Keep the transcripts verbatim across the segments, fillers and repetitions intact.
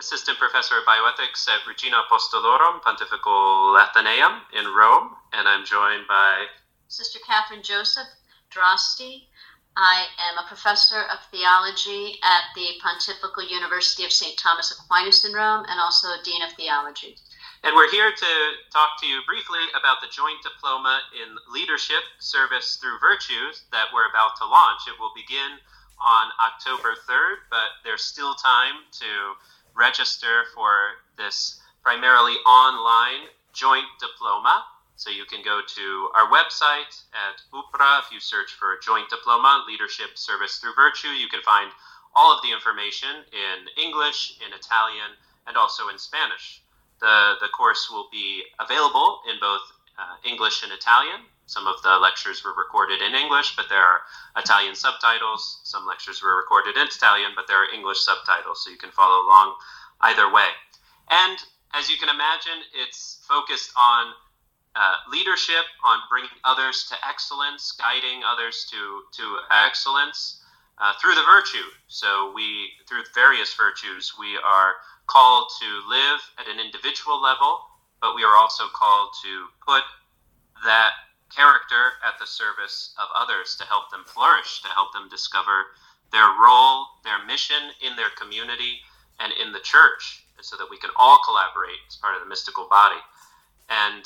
assistant professor of bioethics at Regina Apostolorum Pontifical Athenaeum in Rome, and I'm joined by Sister Catherine Joseph Drosty. I am a professor of theology at the Pontifical University of Saint Thomas Aquinas in Rome, and also Dean of Theology. And we're here to talk to you briefly about the joint diploma in leadership, service through virtues that we're about to launch. It will begin on October third, but there's still time to register for this primarily online joint diploma. So you can go to our website at U P R A. If you search for joint diploma, leadership, service through virtue, you can find all of the information in English, in Italian, and also in Spanish. The, the course will be available in both uh, English and Italian. Some of the lectures were recorded in English, but there are Italian subtitles. Some lectures were recorded in Italian, but there are English subtitles, so you can follow along either way. And as you can imagine, it's focused on uh, leadership, on bringing others to excellence, guiding others to, to excellence uh, through the virtue. So we, through various virtues, we are called to live at an individual level, but we are also called to put that character at the service of others to help them flourish, to help them discover their role, their mission in their community and in the church, so that we can all collaborate as part of the mystical body. And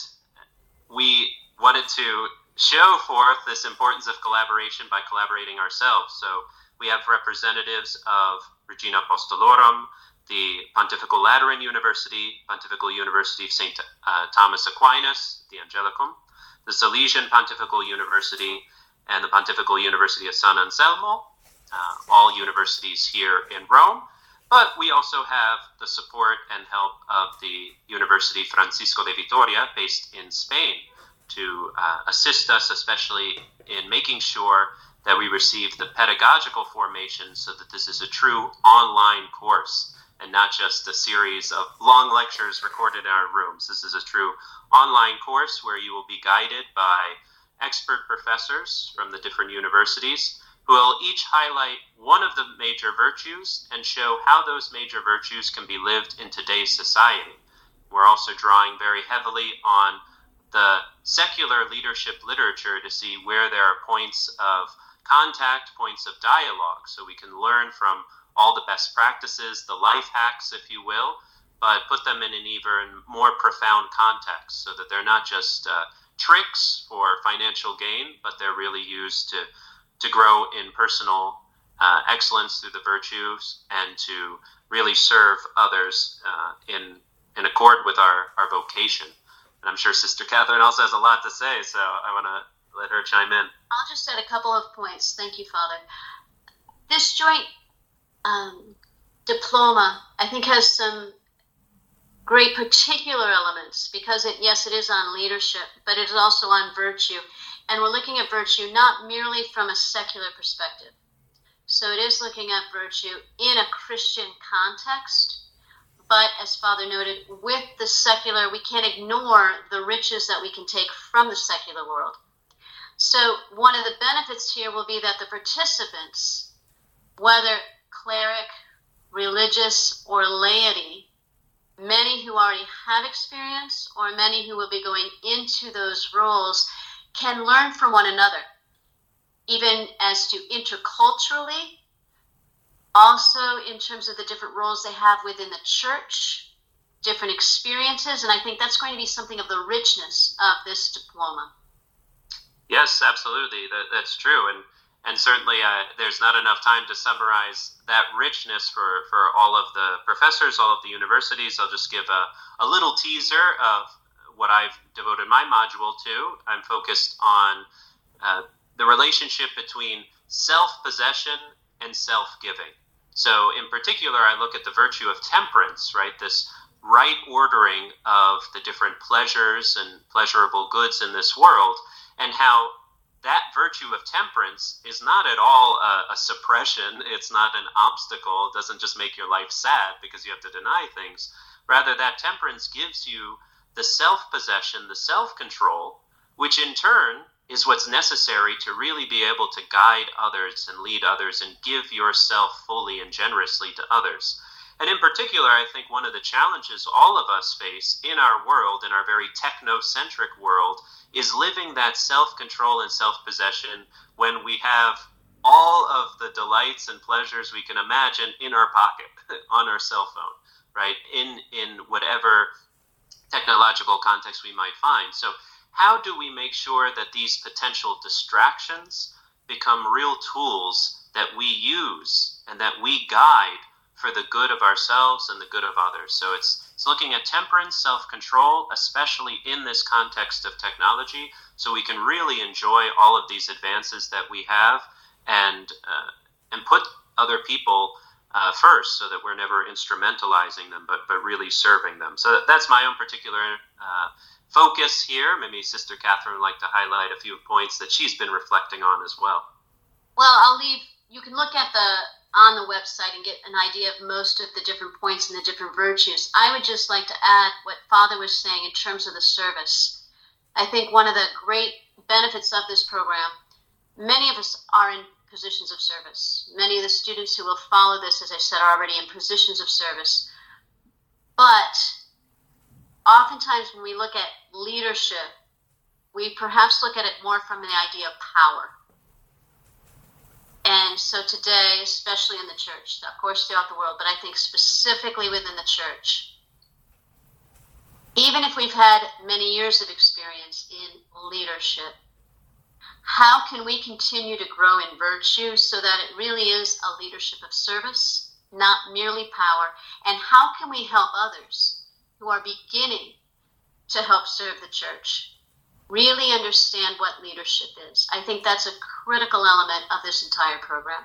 we wanted to show forth this importance of collaboration by collaborating ourselves. So we have representatives of Regina Apostolorum, the Pontifical Lateran University, Pontifical University of Saint uh, Thomas Aquinas, the Angelicum, the Salesian Pontifical University, and the Pontifical University of San Anselmo, uh, all universities here in Rome. But we also have the support and help of the University Francisco de Vitoria, based in Spain, to uh, assist us, especially in making sure that we receive the pedagogical formation so that this is a true online course and not just a series of long lectures recorded in our rooms. This is a true online course where you will be guided by expert professors from the different universities who will each highlight one of the major virtues and show how those major virtues can be lived in today's society. We're also drawing very heavily on the secular leadership literature to see where there are points of contact, points of dialogue, so we can learn from all the best practices, the life hacks, if you will, but put them in an even more profound context so that they're not just uh, tricks for financial gain, but they're really used to, to grow in personal uh, excellence through the virtues and to really serve others uh, in, in accord with our, our vocation. And I'm sure Sister Catherine also has a lot to say, so I want to let her chime in. I'll just add a couple of points. Thank you, Father. This joint um, diploma, I think, has some great particular elements because, it, yes, it is on leadership, but it is also on virtue. And we're looking at virtue not merely from a secular perspective. So it is looking at virtue in a Christian context, but as Father noted, with the secular, we can't ignore the riches that we can take from the secular world. So one of the benefits here will be that the participants, whether cleric, religious, or laity, many who already have experience or many who will be going into those roles, can learn from one another, even as to interculturally, also in terms of the different roles they have within the church, different experiences, and I think that's going to be something of the richness of this diploma. Yes, absolutely. That, that's true. And and certainly uh, there's not enough time to summarize that richness for, for all of the professors, all of the universities. I'll just give a, a little teaser of what I've devoted my module to. I'm focused on uh, the relationship between self-possession and self-giving. So in particular, I look at the virtue of temperance, right? This right ordering of the different pleasures and pleasurable goods in this world, and how that virtue of temperance is not at all a, a suppression. It's not an obstacle. It doesn't just make your life sad because you have to deny things. Rather, that temperance gives you the self-possession, the self-control, which in turn is what's necessary to really be able to guide others and lead others and give yourself fully and generously to others. And in particular, I think one of the challenges all of us face in our world, in our very technocentric world, is living that self-control and self-possession when we have all of the delights and pleasures we can imagine in our pocket, on our cell phone, right? In, in whatever technological context we might find. So how do we make sure that these potential distractions become real tools that we use and that we guide for the good of ourselves and the good of others? So it's, it's looking at temperance, self-control, especially in this context of technology, so we can really enjoy all of these advances that we have and uh, and put other people uh, first, so that we're never instrumentalizing them, but but really serving them. So that's my own particular uh, focus here. Maybe Sister Catherine would like to highlight a few points that she's been reflecting on as well. Well, I'll leave. You can look at the on the website and get an idea of most of the different points and the different virtues. I would just like to add what Father was saying in terms of the service. I think one of the great benefits of this program, many of us are in positions of service. Many of the students who will follow this, as I said, are already in positions of service. But oftentimes when we look at leadership, we perhaps look at it more from the idea of power. And so today, especially in the church, of course throughout the world, but I think specifically within the church, even if we've had many years of experience in leadership, how can we continue to grow in virtue so that it really is a leadership of service, not merely power? And how can we help others who are beginning to help serve the church really understand what leadership is? I think that's a critical element of this entire program.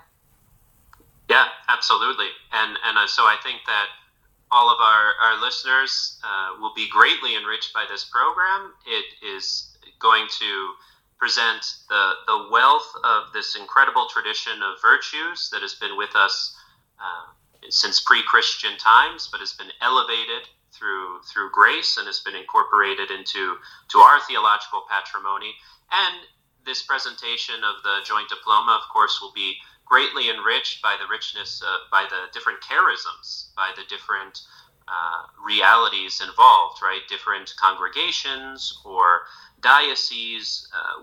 Yeah, absolutely. And and uh, so I think that all of our, our listeners uh, will be greatly enriched by this program. It is going to present the, the wealth of this incredible tradition of virtues that has been with us uh, since pre-Christian times, but has been elevated through through grace and has been incorporated into to our theological patrimony. And this presentation of the joint diploma, of course, will be greatly enriched by the richness, uh, by the different charisms, by the different uh, realities involved, right? Different congregations or dioceses, uh,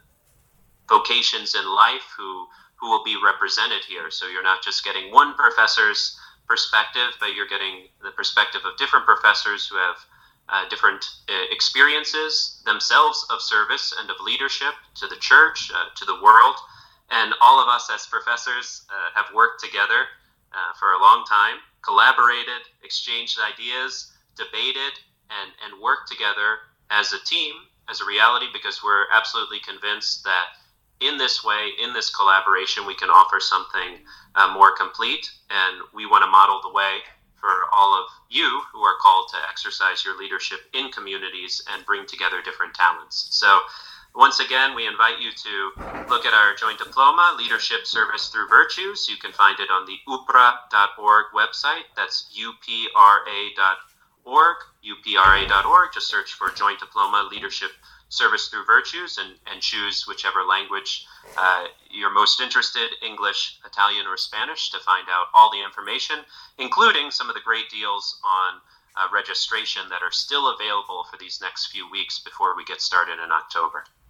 vocations in life who who will be represented here. So you're not just getting one professor's perspective, but you're getting the perspective of different professors who have uh, different uh, experiences themselves of service and of leadership to the church, uh, to the world. And all of us as professors uh, have worked together uh, for a long time, collaborated, exchanged ideas, debated, and, and worked together as a team, as a reality, because we're absolutely convinced that in this way, in this collaboration, we can offer something uh, more complete. And we want to model the way for all of you who are called to exercise your leadership in communities and bring together different talents. So once again, we invite you to look at our joint diploma, Leadership Service Through Virtues. You can find it on the U P R A dot org website. That's U P R A dot org, U P R A dot org. Just search for Joint Diploma, Leadership Service Through Virtues, and, and choose whichever language uh, you're most interested, English, Italian, or Spanish, to find out all the information, including some of the great deals on uh, registration that are still available for these next few weeks before we get started in October.